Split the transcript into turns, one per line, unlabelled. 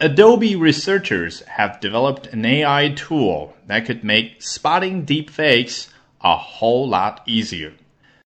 Adobe researchers have developed an AI tool that could make spotting deepfakes a whole lot easier.